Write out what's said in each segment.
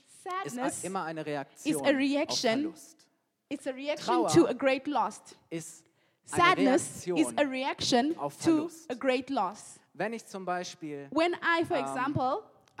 sadness immer eine is Reaktion a reaction. auf Verlust. It's a reaction Trauer to a great loss. Ist eine Sadness is Reaktion a reaction auf to Verlust. a great loss. Wenn ich zum Beispiel When I, for example,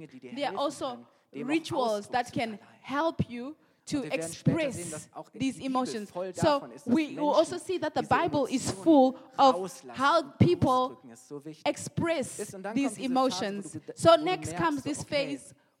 Dinge, die dir There are helfen also können, dem auch rituals Ausdruck that zu can verleihen. help you to Und wir werden später sehen, express dass auch die these Bibel emotions. voll So davon ist, dass we will also Menschen see that the diese Bible is Emotionen full of rauslassen how und people ausdrücken, ist so wichtig. express Und dann these kommt diese Phase, emotions. wo du So wo du next merkst, comes so, this okay, phase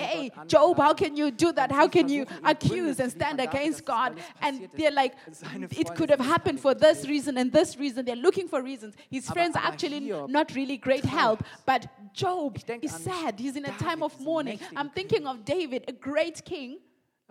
hey, Gott Job, how anklagen. can you do that? Und How sie can you versuchen, ihn Gründe accuse and zu stand liefern dafür, against dass God? alles And passiert they're ist. like, Seine it Freunde could have sind happened nicht for this gewählt. reason and this reason. They're looking for reasons. His friends are Aber actually Hiob not really great help. But Job Ich denk is an sad. He's in a David, time of diesen mourning. mächtigen I'm thinking of David, a great king.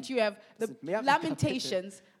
Testament, you have the sind mehrere Lamentations,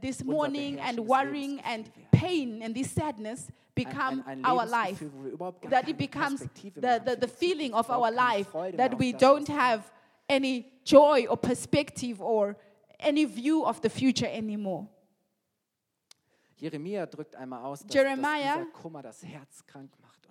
this unser mourning and beherrschendes worrying and Lebensgefühl werden. pain and this sadness become ein our life. Lebensgefühl, wo wir überhaupt gar That it keine becomes Perspektive mehr haben für the die feeling Zukunft, of our überhaupt keine life, Freude that mehr we auf das, don't was have any joy or perspective or any view of the future anymore. Jeremia drückt einmal aus, dass Jeremiah dieser Kummer das Herz krank macht.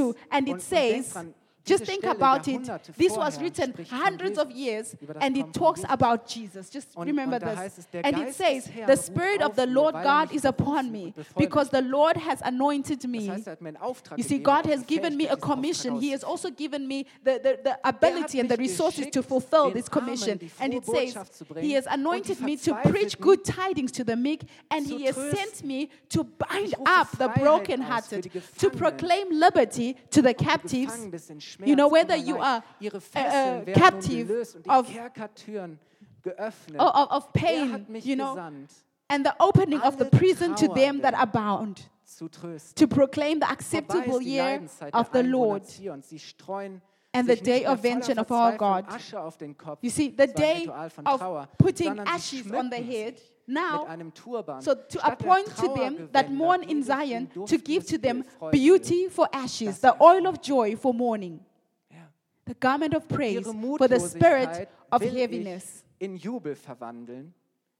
do. And it und denk says, dran, Just Diese think Stelle about it. Jahrhunderte This was vorher written spricht von hundreds of Jesus, years, über das and it Kommen von talks Jesus. about Jesus. Just remember und da this. heißt es, der And it Geist says, des Herrn the ruft Spirit of auf the mir, Lord weil God mich is upon berufen me, und bevollmächtigt because the Lord has anointed Das me. heißt, er hat mir einen Auftrag You see, gegeben, God auch has die given me a Fähigkeit, diesen commission. Auftrag He has auszuführen. also given me the ability and the mich resources to geschickt, fulfill den this Armen commission. die And frohe it says, Botschaft zu He bringen has und die anointed me to preach Verzweifelten good tidings to the meek, and zu He has trösten. sent me to bind Ich rufe up the Freiheit aus für brokenhearted, die to Gefangenen, proclaim liberty to the auch die captives. Gefangenen bis in Schmerz, You know, whether Kummer, you Leid. are Ihre Fesseln werden nun captive gelöst und die of- Kerkertüren geöffnet. of Er pain, hat mich you know, gesandt, and the opening of the alle prison to them that Trauernden are bound, zu trösten. to proclaim the Vorbei acceptable ist die year Leidenzeit of der the Einwohner Lord Zions. Sie streuen and sich the day nicht mehr of voller vengeance of our Verzweiflung God. Asche auf den Kopf. You see, the Das war ein day Ritual von of Trauer, putting sondern sie ashes on the schmücken head. sich Now, mit einem Turban. so to Statt der appoint to them that Trauergewänder mourn in jedes Zion, ihnen to duftendes give to them Öl, Freude. beauty for ashes, the oil of joy for mourning, Ja. the garment of praise Ihre for the spirit Mutlosigkeit of will heaviness, ich in Jubel verwandeln,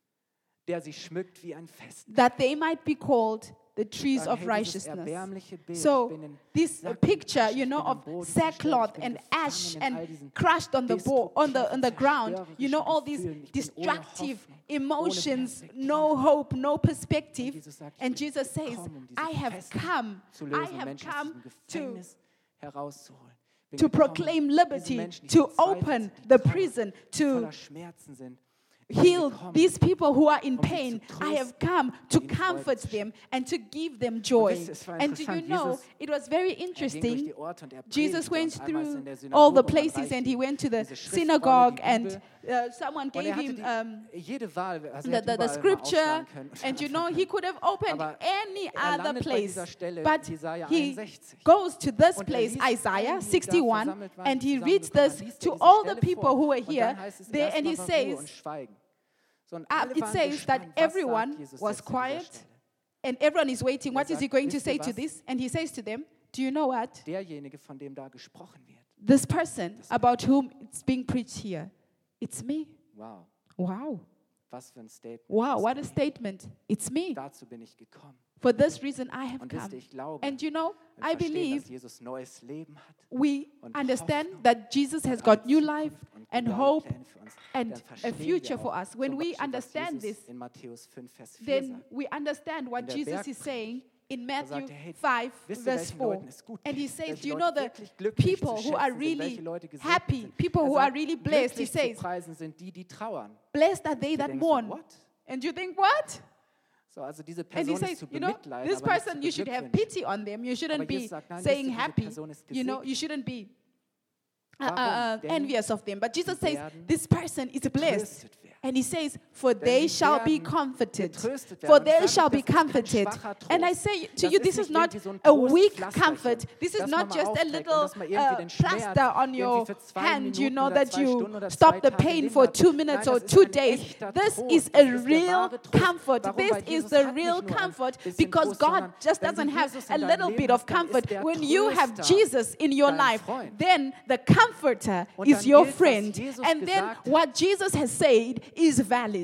der sie schmückt wie ein Fest. that they might be called the trees Sagen, of hey, dieses righteousness. erbärmliche Bild, ich So bin in this Sack und picture, Asche, you ich know, bin am of Boden zerstört, sackcloth ich bin and gefangen ash in and all diesen crushed on the destruktiven, ground, you know, all zerstörerischen these Gefühlen. Ich bin ohne destructive Hoffnung, ohne emotions, Perspektive. no hope, no perspective. Und Jesus sagt, ich And bin Jesus says, gekommen, diese I have Fesseln come, zu I lösen, have Menschen aus come diesem to Gefängnis herauszuholen. Bin to gekommen, proclaim diese liberty, Menschen, die to verzweifelt open sind, die the trauern, prison, die to voller Schmerzen sind. Ich bin heal gekommen, these people who are in um sie pain. zu I have trösten, come to ihnen Freude comfort zu them and to give them joy. wisst ihr, es war And do you interessant, know, Jesus, it was very Er ging durch interesting. die Orte und er Jesus predigte went und einmal ist er through in der all Synagoge the und man places reichte and he ihm went to the diese Schriftrolle, synagogue die and Bibel. someone Und gave er hatte him jede Wahl, also the, er hätte the überall mal scripture, aufschlagen können. and you know, he could have opened Aber any er other landet bei place, dieser Stelle, but Jesaja he 61. goes to this Und er place, liest allen, Isaiah die da 61, versammelt waren, and he die reads zusammengekommen this waren, liest to er diese all the Stelle people vor. who were Und here, dann heißt es there, and he erstmal war Ruhe und says Schweigen. So, und alle it waren says that gespannt, was everyone sagt Jesus was jetzt an dieser quiet, Stelle? and everyone is waiting. What is he sagt, going to wisst ihr say to was? this? And he says to them, do you know what? Derjenige, von dem da gesprochen wird. This person about whom it's being preached here, it's me. Wow, Wow. was für ein Statement. Wow, what a statement. It's me. Dazu bin ich gekommen. For this reason I have Und wisst come. ihr, ich glaube, And you know, wir I verstehen, believe dass Jesus neues Leben hat we und understand Hoffnung that Jesus has und got eine new Zukunft life und and geniale hope Pläne für uns. and Dann a verstehen future wir for auch us. When zum we Beispiel, was understand Jesus this, in Matthäus 5, Vers 4 then sagt. we understand what In der Jesus is Bergpredigt, saying in sagt Matthew er, hey, 5, wisst ihr, verse welchen 4. Leuten es gut And he geht, says, welche do you Leute know the wirklich glücklich people zu who are schätzen sind, welche really Leute gesegnet happy, sind? people Er who are sagt, really blessed? He glücklich zu says, preisen sind die, die trauern. blessed are they Du that denkst so, mourn. what? And you think, what? So, also diese And he Person ist says, zu you know, bemitleiden, this aber nicht person, zu you should have beglückwünschen. pity on them. You shouldn't Aber be Jesus sagt, nein, saying wisst ihr, diese happy. Person ist You know, gesegnet. you shouldn't be Warum? Denn envious of them. But Jesus sie says, werden this person is blessed. getröstet werden. And he says, for Denn they sie shall be werden comforted. getröstet werden. For Und they ich shall sage be nicht, das ist kein comforted. schwacher Trost. And I say to Das you, ist this nicht is not irgendwie so ein a weak Trostpflasterchen, comfort. This is das man not mal just a aufträgt und little dass man irgendwie den Schmerz plaster on your irgendwie für 2 hand, you Minuten know, oder that 2 you Stunden oder stop 2 the Tage pain lindert. for 2 Nein, minutes das or ist 2 ein days. echter This Trost. is Das a ist der real wahre Trost. comfort. Warum? This Weil is Jesus the hat nicht real nur ein comfort bisschen because Trost, God sondern just wenn du doesn't have Jesus a in deinem little Leben bit of hast, dann ist comfort. der When you have Tröster Jesus in your dein life, Freund. then the comforter Und is dann your gilt, was friend. Jesus And then gesagt hat. what Jesus has said is valid.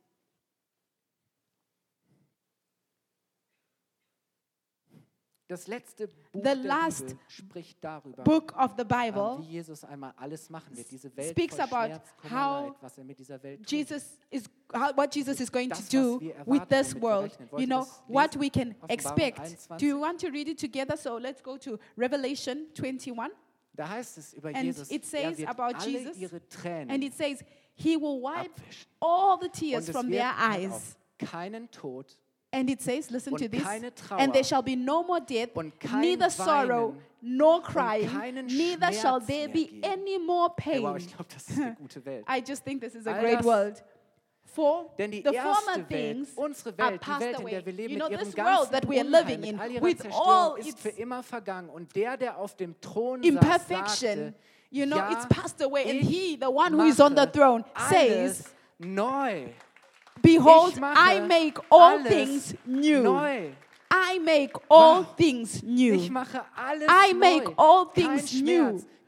Das letzte Buch The der last Bibel spricht darüber, Book of the Bible wie Jesus einmal alles machen wird. Diese Welt speaks voll about Schmerz, Kummer, how Leid, was er mit dieser Welt tut. what Jesus is going to Das, do was wir erwarten, with this womit wir world. rechnen. Wollt You ihr know, das what lesen? we can Offenbarung expect. 21. Do you want to read it together? So let's go to Revelation 21. Da heißt es über And Jesus, it says er wird about alle Jesus, ihre Tränen And it says, He will wipe abwischen. all the tears Und es from wird their eyes. auf keinen Tod And it says, listen und to this, keine Trauer and there shall be no more death, und kein neither sorrow Weinen nor crying, keinen neither shall Schmerz there mehr be geben. any more Hey, wow, pain. ich glaube, das ist eine gute Welt. I just think this is a All great das- world. For Denn die the former erste Welt, things unsere are Welt, die passed Welt, in away. der wir leben, You know, mit ihrem this world that ganzen we are Unheil, living mit in, all ihrer with Zerstörung, all ist its für immer vergangen. Und der auf dem Thron imperfection, saß, sagte, you know, ja, it's passed away. And ich He, the one who is on the mache throne, alles says, neu. Behold, Ich mache I make all alles things new. Neu. I make all Wow. things new. Ich mache alles I neu. make all Kein things Schmerz, new.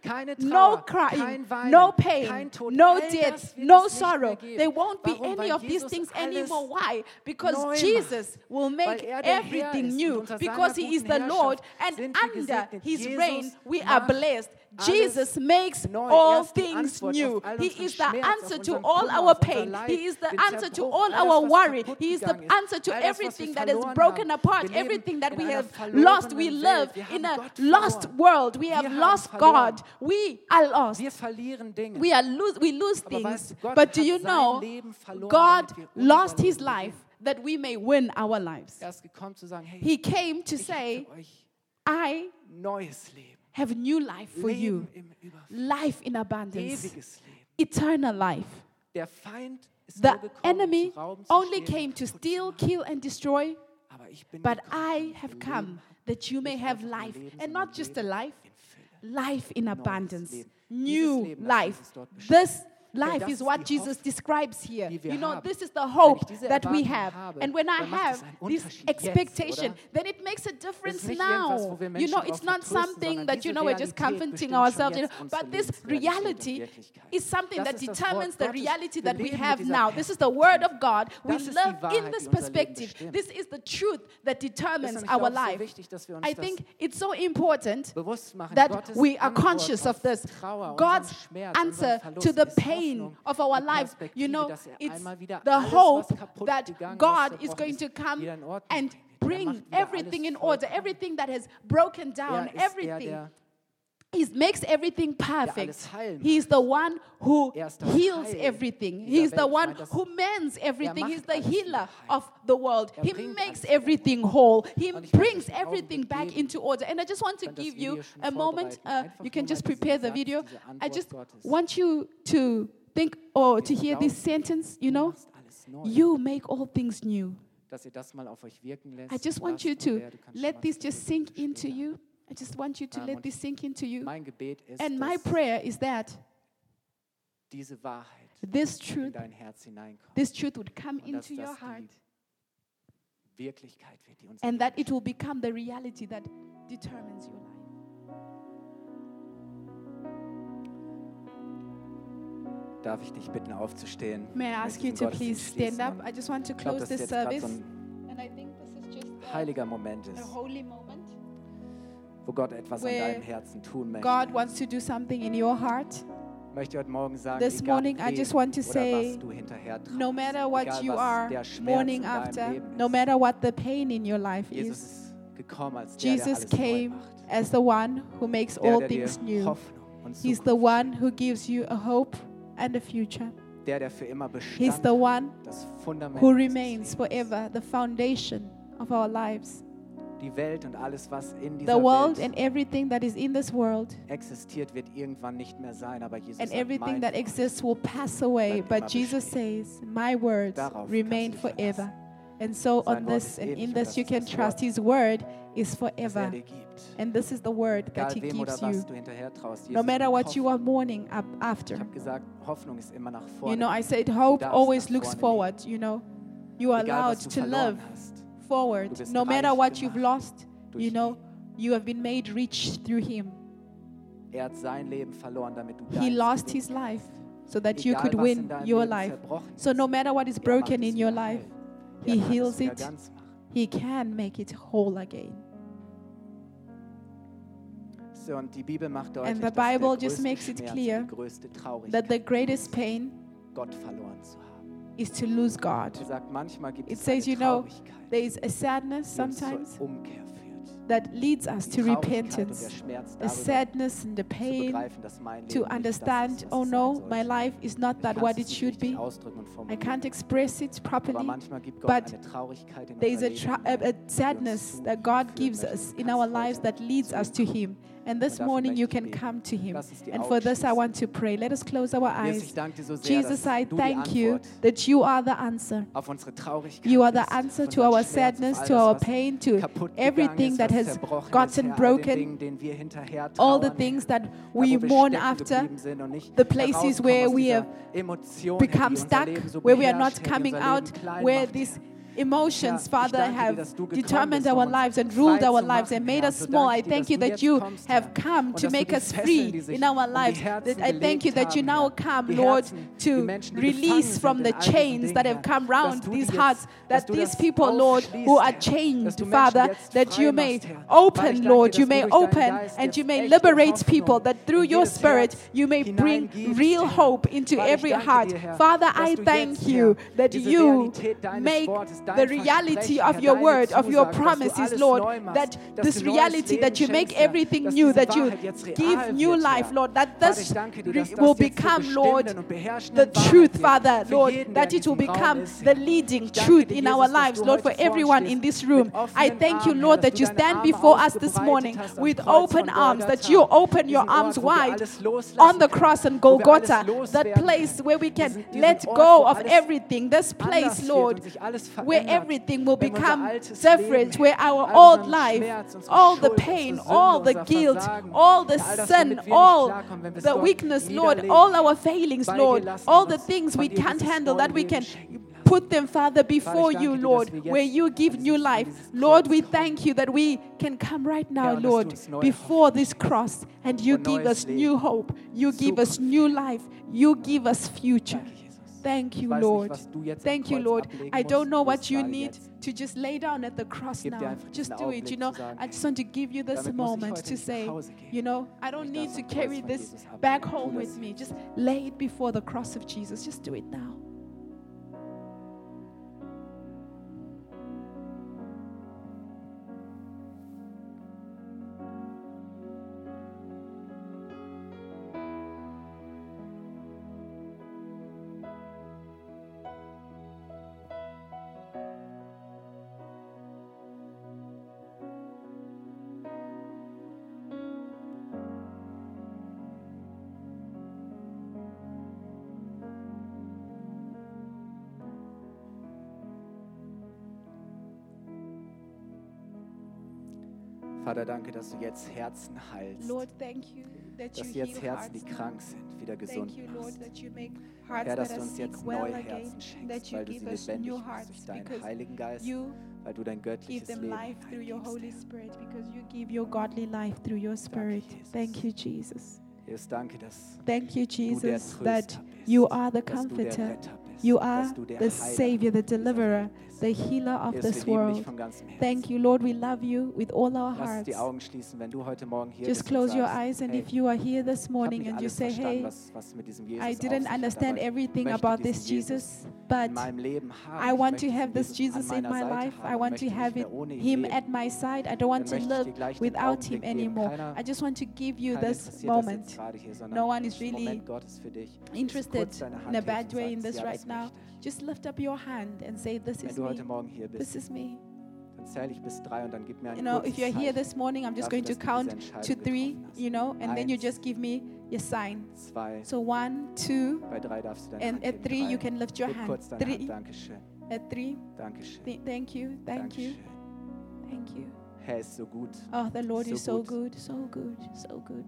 keine no Trauer, crying, kein Weinen, no pain, kein Tod. no All death, das wird no es nicht mehr sorrow. geben. There won't be Warum? any Weil of these Jesus things alles anymore. Why? Because neu Jesus will make Weil er der Herr everything ist und new. unter Because seiner He is guten the Lord, Herrschaft and sind wir under gesegnet. His Jesus reign we are macht blessed. alles Jesus makes neu. all Er ist die things Antwort new. auf all He unseren is the Schmerz, answer auf to unseren all Kummer, our auf unser pain. Leid, He is the den answer to Zerbruch, all alles, our was worry. kaputt He is the gegangen ist, answer to all das, was everything wir that is verloren broken haben. apart, Wir leben everything that in we einer have verlorenen lost. We Welt. live Wir in haben a Gott lost verloren. world. We Wir have haben lost verloren. God. We are lost. Wir verlieren Dinge. We lose Aber weißt things. du, Gott But do hat you sein know, Leben verloren, God damit wir unser lost His Leben life gewinnen. that we may win our lives. Er ist gekommen zu sagen, hey, He came to ich say, habe für euch I neues Leben. have new life for you. Leben im Überfluss. Life in abundance. Ewiges Leben. Eternal life. Der Feind ist The nur gekommen, enemy zu rauben, zu only stehlen, came to kaputt zu steal, machen. kill, and destroy. Aber ich bin But gekommen, I damit have ihr come Leben habt. that you may Nicht have einfach nur life. Leben, And sondern not just a Leben life, in Fülle. life in Neues abundance. Leben. New Dieses Leben, das life. Jesus dort beschreibt. This life das is ist what die Jesus Hoffnung, describes here. die wir You know, haben. this is the Wenn hope ich diese that we Erwartung have. habe, And when I dann macht es have einen this Unterschied jetzt, expectation, oder? then it makes a Es difference ist nicht irgendwas, now. wo wir You Menschen know, drauf it's not vertrösten, something sondern that, you diese know, we're just Realität comforting bestimmt schon ourselves. jetzt unsere But this Lebensrealität und reality Wirklichkeit. is something Das that ist das determines Wort the Gottes. reality Wir that we leben mit have dieser now. This is the word of God. We Das ist die live in Wahrheit, this die unser Leben perspective. bestimmt. This is the truth that Es ist determines nämlich our auch so life. wichtig, dass wir uns I das think it's so important bewusst machen. that Gottes we are Antwort conscious of auf this. Trauer, God's unseren Schmerz, answer unseren Verlust to the ist pain Hoffnung, of our die life, you Perspektive, know, dass er it's einmal wieder the alles, was hope kaputt that gegangen, was God is zerbrochen going ist, to come wieder in Ordnung and bringen wird. Er bring macht wieder everything alles in order, vollkommen. everything that has broken down, Er ist everything. der He makes everything perfect. alles heil He is the one who Er ist das heals Heil everything. dieser He is the Welt. Ich one meine, das- who mends everything. He's macht the alles wieder healer heil. of the world. He bringt makes alles wieder everything whole. He Und ich möchte brings euch einen everything Augenblick back geben. into order. And I just want to könnt das give you Video schon a moment. vorbereiten. Einfach You can nur just mal diesen prepare the Satz, video. diese I Antwort just Gottes. want you to think or to hear this sentence, you know. machst alles neu. You make all things new. Dass ihr das mal auf euch wirken lässt. I just want lasst. you Und to Lea, du kannst schon let mal this das just Video sink into spielen. you. I just want you to let und this sink into you. Mein Gebet ist, And my dass prayer is that diese Wahrheit this in truth, dein Herz hineinkommt. this truth would come Und dass into your das heart, die Wirklichkeit wird, die uns and that it will become the reality that determines your life. Darf ich dich bitten, aufzustehen? May I Ich ask möchte you diesen to please Gottesdienst stand schließen. up? I just want to Ich glaube, close dass this jetzt gerade service. so ein And I think this is just heiliger Moment a ist, holy moment wo Gott etwas an where deinem Herzen tun möchte. God wants to do something in your heart. Ich möchte heute Morgen sagen, This egal morning, I wem just want to oder say, was du hinterher traust, No matter what egal you was are der Schmerz mourning in deinem after, Leben no ist, matter what the pain in your life Jesus is, ist gekommen als der, der Jesus alles neu came macht. as the one who makes Der, all der dir things new. Hoffnung und He's the Zukunft one who gives you a hope and a future. schenkt. Der für immer He's Bestand the one das Fundament who unseres remains Lebens. forever, the foundation of our lives. Die Welt und alles, was in The dieser world Welt and everything that is in this world existiert, wird irgendwann nicht mehr sein. Aber Jesus and sagt, everything mein that Wort exists will pass away. bleibt But immer Jesus bestehen. says, My words Darauf remain kannst du dich forever. verlassen. And so Sein on Wort this ist and ewig in und this das you ist can das trust. Wort, His word is das er forever. dir gibt. And this is the word that Egal He wem oder gives you. was du hinterher traust. No Jesus matter bringt what you are Hoffnung. mourning Ich after. habe gesagt, Hoffnung ist immer nach vorne. You know, I said hope darfst always nach looks vorne forward. You know, you are Egal, allowed was du to verloren live hast. forward. Du bist No matter reich what you've gemacht lost, durch you know, ihn. you have been made rich through Him. Er hat sein Leben verloren, damit du He deins lost gewinnst. His life so that you Egal, could was in win deinem your Leben life. zerbrochen So no ist, matter what is er macht broken es in your wieder life, heil. He Er kann es heals wieder it. ganz machen. He can make it whole again. So, und die Bibel macht deutlich, And the dass der Bible just größte makes it Schmerz clear und die größte That Traurigkeit the greatest pain Gott verloren zu haben. is to lose God. Er sagt, manchmal gibt It es says, eine you know, Traurigkeit, there is a sadness die uns sometimes zur Umkehr führt. that leads us Die to Traurigkeit und repentance, der Schmerz a darüber sadness and the zu pain begreifen, dass mein Leben to nicht das understand, ist, was oh es no, sein my sollte. life is not Ich that kann's what it nicht should richtig be. ausdrücken und I formulieren. can't express it Aber properly, manchmal gibt Gott but eine Traurigkeit in there is unser a, Leben a hinein, sadness that God gives us in our lives that leads us to Him. And this dafür morning you möchte ich can beten. come to Him. Lass uns die And Augen for this I schließen. want to pray. Let us close our Jesus, ich eyes. danke dir so sehr, Jesus, dass I du die thank you Antwort that you are the answer. auf unsere Traurigkeit You are the bist, answer auf to unseren our Schmerz, sadness, auf to all our das, was pain, to kaputt everything gegangen ist, that was has zerbrochen gotten ist, Herr, all den broken, Dingen, denen wir hinterher all the trauern, things Herr. that Da, we wo wir mourn stecken after, geblieben sind und nicht the places herauskommen where aus we dieser have Emotion, Herr, become die unser stuck, Leben so where we are beherrscht, not Herr, die coming unser out, Leben klein where macht, this Herr. emotions, Herr, ich Father, danke dir, have dass du gekommen determined bist, um our uns lives and frei ruled zu our lives machen, and made Herr. us So small. I danke dir, thank dass you du that jetzt you kommst, have Herr. come Und to dass du make die us Fesseln, free die sich in our um die lives. Herzen That I thank you gelegt that you haben, now Herr. come, Die Lord, Herzen, die to Menschen, die release gefangen from sind the in all diesen chains Dingen, that Herr. have come Dass round du these die hearts, jetzt, dass that du these das people, Lord, aufschließt, who are Herr. Dass chained, du Menschen Father, jetzt that frei you may machst, Herr. Vater, open, ich danke dir, Lord, dass you du may durch deinen open Geist and you jetzt may echte liberate Hoffnung people, that through in your jedes Spirit Herz you may bring hineingibst, real Herr. hope into Vater, ich every danke heart. dir, Herr, Father, dass I du thank jetzt, you Herr, that diese you Realität deines make Wortes, the dein reality Versprechen, of Herr, your deine word, of your Zusagen, dass du promises, alles Lord, neu machst, that dass this du neues reality Leben that you make schenkst, Herr, everything dass new, diese that you Wahrheit jetzt real give new wird, life, Herr. Lord, that Vater, this ich danke dir, dass will das jetzt zur become, Lord, bestimmenden und the beherrschenden truth, Wahrheit wird Father, für Lord, jeden, der that in it will diesem Raum become ist, the Herr. leading Ich danke truth dir, in Jesus, our dass lives, du Lord, for heute vor uns everyone in stehst this mit room. I offenen thank you, Armen, Herr, Lord, dass that du you deine stand Arme before us this ausgebreitet morning hast am with Kreuz open von arms, that Golgatha, you open your diesen arms Ort, wo wir wide alles loslassen on the können, cross on wo wir alles Golgotha, that loswerden place können. where we can Diesen let Ort, go wo of alles everything, this place, anders wird Lord, und sich alles where verändert, everything will wenn wir unser become altes different, Leben, where our all old unseren life, Schmerz, unsere all the Schuld, pain, unsere Sünde, all the unser guilt, Versagen, all the ja, all das, sin, womit wir nicht all klarkommen, wenn wir es the dort weakness, Lord, niederlegen, all our failings, bei dir Lord, lassen all und the uns things von we dir can't dieses handle, neue that we Leben can schenken lassen. put them, Father, before danke you, dir, Lord, dass wir jetzt where you give an new dieses- an life. dieses Lord, Kreuz we kommen. thank you that we can come right now, Herr, und dass du Lord, uns neue before Hoffnung this cross, and you und give neues us Leben, new hope, you give us Zukunft. new life, you give us future. Danke, Jesus. Thank Ich you, weiß Lord. nicht, was du jetzt am Thank you, Kreuz Lord. ablegen I don't musst. know Tu what es you gerade need jetzt. to just lay down at the cross Gib dir now. einfach Just diesen do it, Augenblick you know. zu sagen, I just want to give you this damit muss ich moment heute to nicht say, nach Hause gehen. you know, I don't Ich need darf to am Kreuz carry von this Jesus ablegen. back Tu home das with me. jetzt. Just lay it before the cross of Jesus. Just do it now. Vater, danke, dass du jetzt Herzen heilst. Lord, thank you that you Dass du jetzt heal Herzen, die hearts. krank sind, wieder gesund Thank you, Lord, machst. that you make hearts Herr, dass that du are uns sick jetzt well neue again, Herzen schenkst, that you weil du give sie us lebendig new machst hearts durch deinen because Heiligen Geist, you weil du dein give göttliches them Leben life through your hineingibst, Holy Herr. Spirit because you give your godly life through your Spirit. Jesus. Thank you, Jesus. Jesus, danke, dass Thank you, du der Jesus, Tröster that bist, you are the dass du der comforter. Retter bist, You are dass du der the Heiler Savior, the dieser deliverer, Welt bist. the healer of Jesus, this wir lieben dich world. von ganzem Herzen. Thank you, Lord. We love you with all our Lass uns hearts. die Augen schließen, wenn du heute Morgen hier Just bist und close your sagst, eyes, and hey, if you are here this ich habe morning nicht and you alles say, verstanden, hey, was mit diesem Jesus I auf didn't sich hat, understand aber ich everything möchte about diesen this Jesus, in but meinem Leben haben. I Ich want möchte to have diesen this Jesus an in meiner my Seite life. haben I und want möchte to nicht have mehr it, ohne ihn Him leben. at my side. I don't want Dann to möchte ich live dir gleich den without Him Augenblick geben. anymore. Keiner- I just want to give you Keiner this interessiert das jetzt moment. gerade hier, sondern No one is diesen really Moment Gottes für dich. Interested Kurz deine Hand in a hebt bad und way in sagst, this ja, right das now. möchte ich. Just lift up your hand and say, this Wenn is du heute me. Morgen hier This bist, is me. dann zähle ich bis 3 und dann gib mir ein You know, if kurzes you're here Zeichen. this morning, I'm just dafür, going to dass du diese count Entscheidung to 3, getroffen hast. you know, and then you 1, just give me your sign. 2, So 1, 2, bei 3 darfst du deine and Hand at heben. 3 you 3. can lift your Heb hand. kurz deine Hand. 3, Dankeschön. at 3. Dankeschön. Thank you, thank you, Dankeschön. thank you. Herr ist so gut. Oh, the Lord So is so gut. good, so good, so good.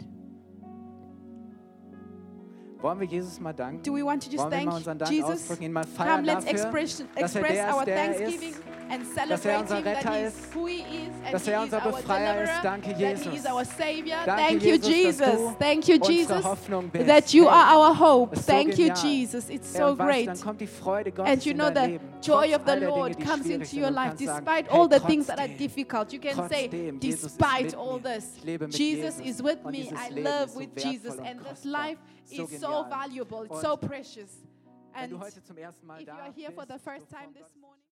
Wollen wir Jesus mal danken? Do we want to just Wollen wir thank mal unseren Dank Jesus? ausdrücken, ihn mal Come, feiern let's dafür, express dass er der our ist, der er thanksgiving ist, and dass er celebrate unser Him, that Retter He ist, is who He is, and dass He er is unser our Befreier ist. deliverer, Danke, that He is Jesus. our Savior. Danke, Thank you, Jesus, dass Jesus. du Thank you, unsere Jesus, Hoffnung bist. that you Hey, are our hope. ist so Thank you, genial. Jesus. It's Herr, so und weißt du, great. dann kommt die Freude Gottes And you in know, dein the Leben. joy Trotz of the all der Dinge, Lord die comes schwierig into sind. your Du life, kannst sagen, despite hey, all the things that are trotzdem, difficult. You can say, trotzdem, Jesus ist despite mit all mir. this, Ich lebe mit Jesus Jesus. is with Und me. dieses I Leben live ist so with wertvoll Jesus. und And this kostbar. life So is so genial. valuable. It's Und so precious. Wenn And du heute zum ersten Mal if you da are here for bist, the first so time vor this Gott, morning,